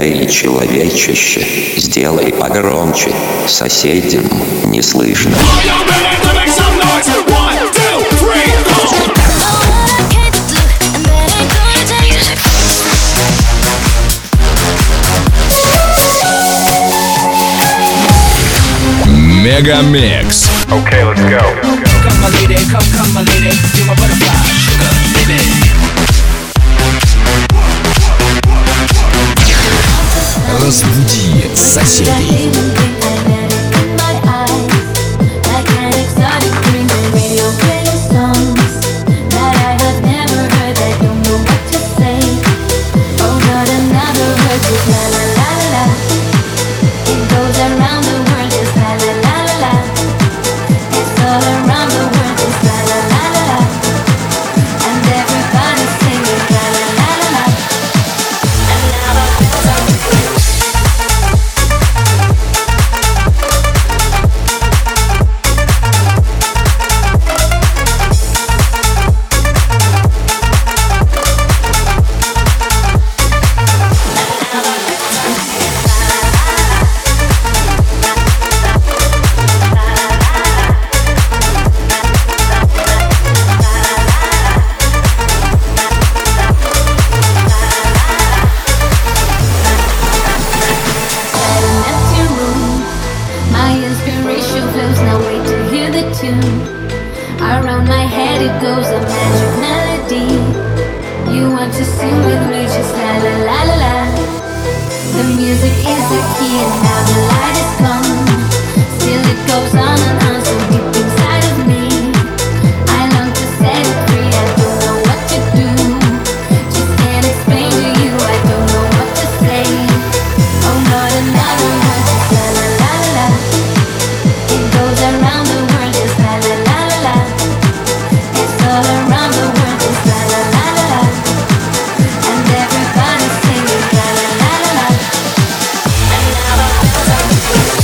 Эй, человечище, сделай погромче, соседям не слышно. Мегамикс. Okay, let's go. Come my lady, come my lady, you're my butterfly, sugar, baby. Разбуди соседей. Around my head it goes a magic melody. You want to sing with me, just la la la la la. The music is the key and now the light is gone. Still it goes on and on so deep inside of me. I long to set it free, I don't know what to do. Just can't explain to you, I don't know what to say. Oh, not another word, just la la la la la. It goes around the world, just la la la la la. It's all around the world, just la la la la la. And everybody's singing la la la la la. And now the bells are ringing.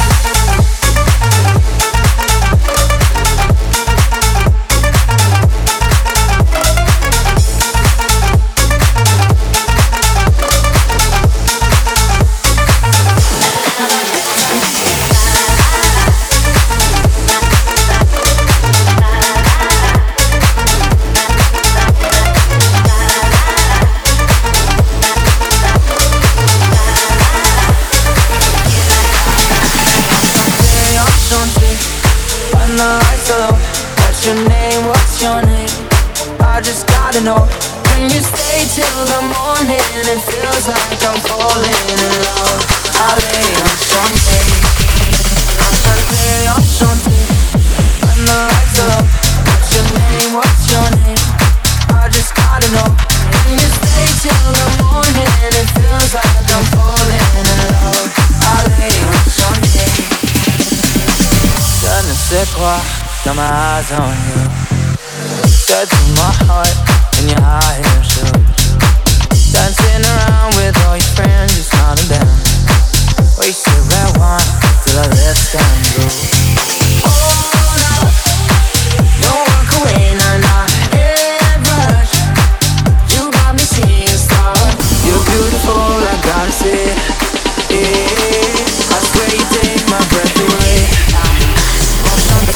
When the lights are low, what's your name, what's your name? I just gotta know. Can you stay till the morning? It feels like I'm falling in love. I'll lay on Sunday, I'll lay on Sunday. When the lights are low, what's your name, what's your name? I just gotta know. Can you stay till the morning? It feels like I'm falling in love. I'll lay on Sunday. Je ne sais quoi, got my eyes on you. Said to my heart in your high heel shoes. Dancing around with all your friends, you smiling down. Wasted red wine till I left and blue. Hold up, don't walk away, nah, nah, head rush. You got me seeing stars. You're beautiful, I gotta say it. Yeah, I swear you take my breath away.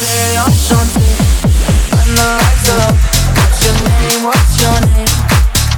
Enchanté, when the lights are up. What's your name, what's your name?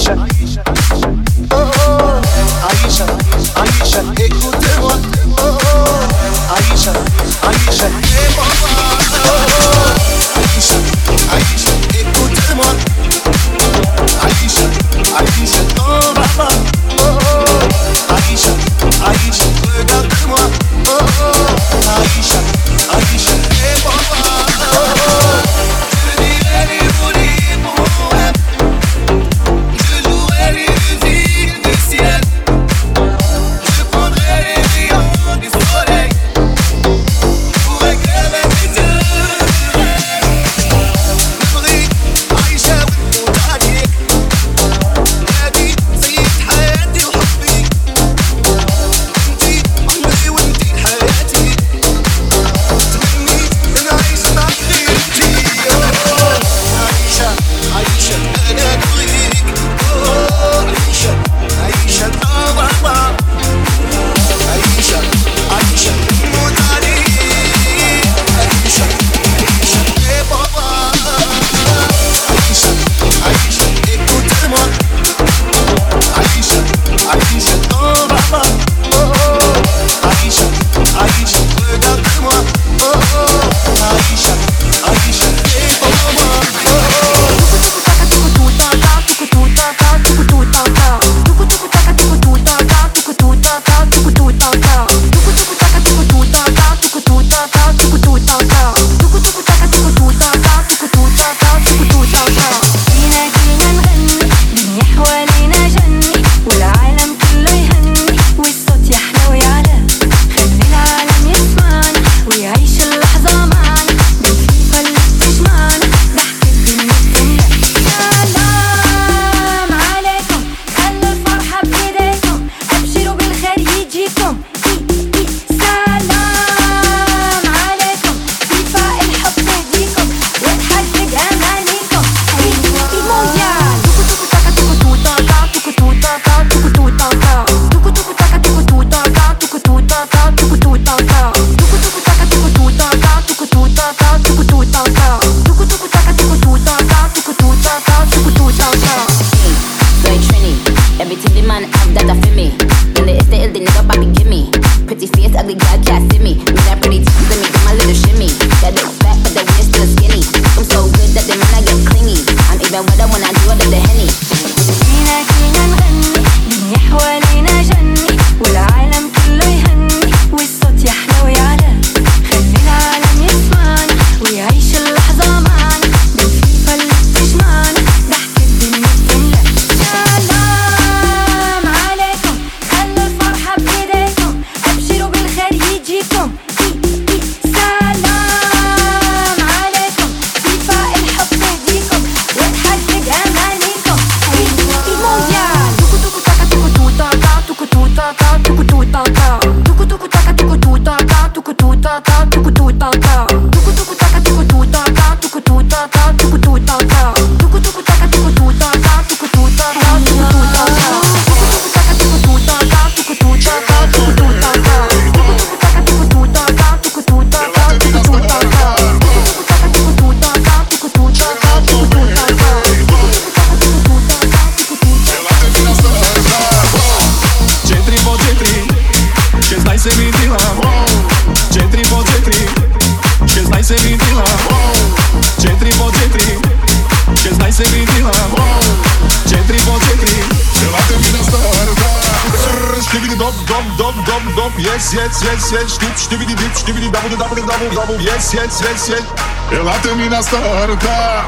Yes. Ela na starta.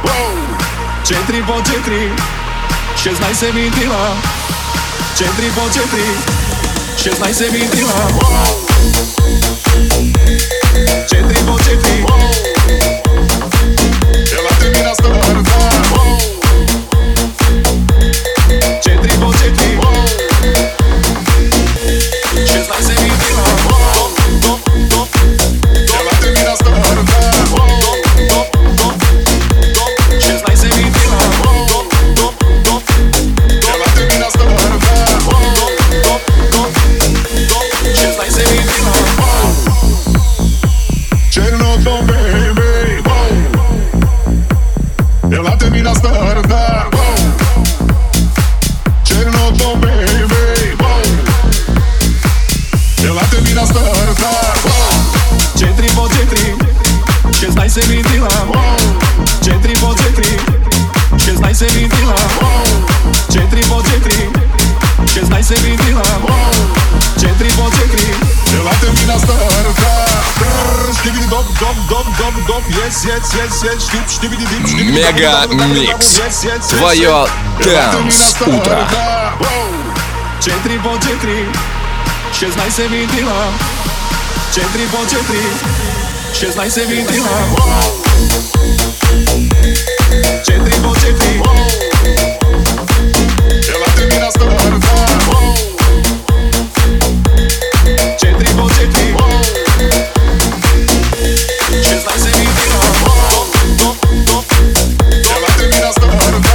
Centri po centri, 16 minutila. Centri po centri, 16 minutila. Centri po centri, ela na starta. Centri po centri, 16 minutila. Czernotą Мега Микс. Твое Dance утро. 4x4 16 vintila 4x4 16 vintila 4x4 Ela termina sta guarda 4x4 16 vintila Ela termina sta guarda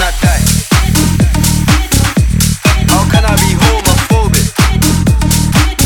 How can I be homophobic?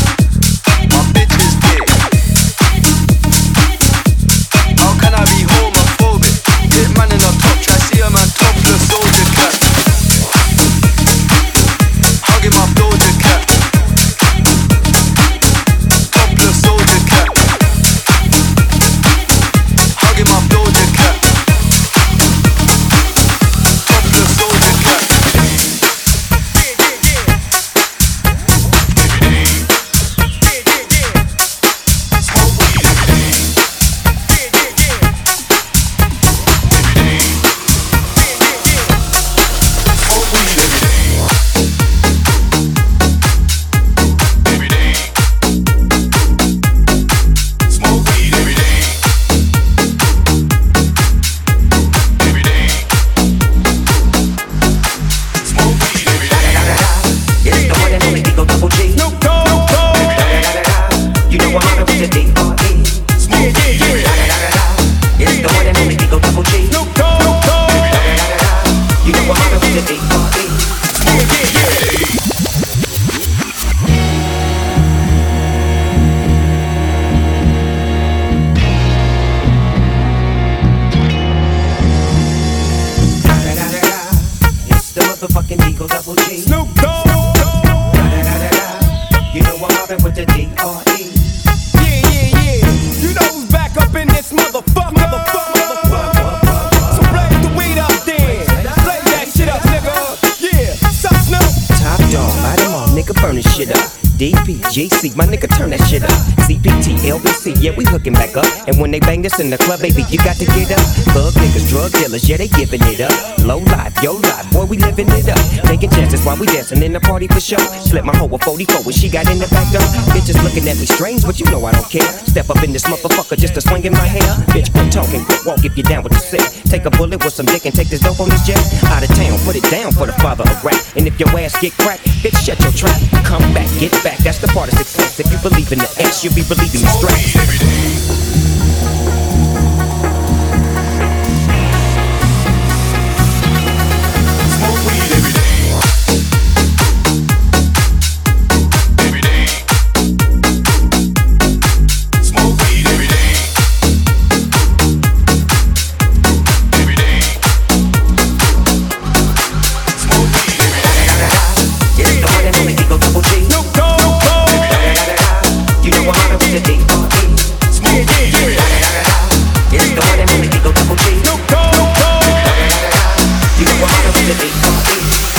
Snoop Dogg. You know I'm mobbing with the D.R.E. Yeah. You know who's back up in this motherfucker. So blaze the weed up then. Blaze that shit up, nigga. Yeah. Sup, Snoop? Top dog, light 'em all, nigga, burn this shit up. DPGC, my nigga, turn that shit up. CPT, LBC, yeah, we hooking back up. And when they bang this in the club, baby, you got to get up. Thug niggas, drug dealers, yeah, they giving it up. Low life, yo life, boy, we living it up. Taking chances while we dancing in the party for sure. Slip my hoe a 44 when she got in the back door. Bitches looking at me strange, but you know I don't care. Step up in this motherfucker just to swing in my hair. Bitch, quit talking, quit walk if you down with the sick. Take a bullet with some dick and take this dope on this jet. Out of town, put it down for the father of rap. And if your ass get cracked, bitch, shut your trap. Come back, get back, that's the part of success. If you believe in the S, you'll be believing the stress. Every day. Smoke weed every day. Every day. Smoke weed every day. Every day. Smoke weed every day. It's the one and only Eagle Double G. Snoop Dogg. You know I'm mobbing with the D.R.E. Smoke weed every day. It's the one and only Eagle Double G. Snoop Dogg. You know I'm mobbing with the D.R.E.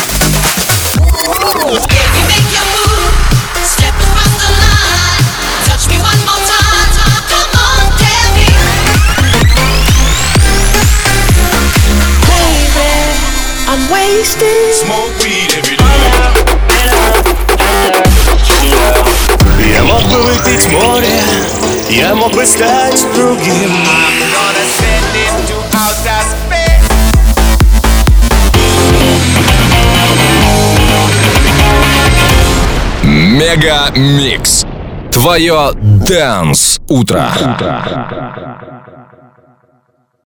You make your move, step across the line. Touch me one more time. Come on, tell me. Baby, I'm wasted. Smoke weed every day. Я мог бы выпить море, я мог бы стать другим. Мега Микс. Твое Dance утро.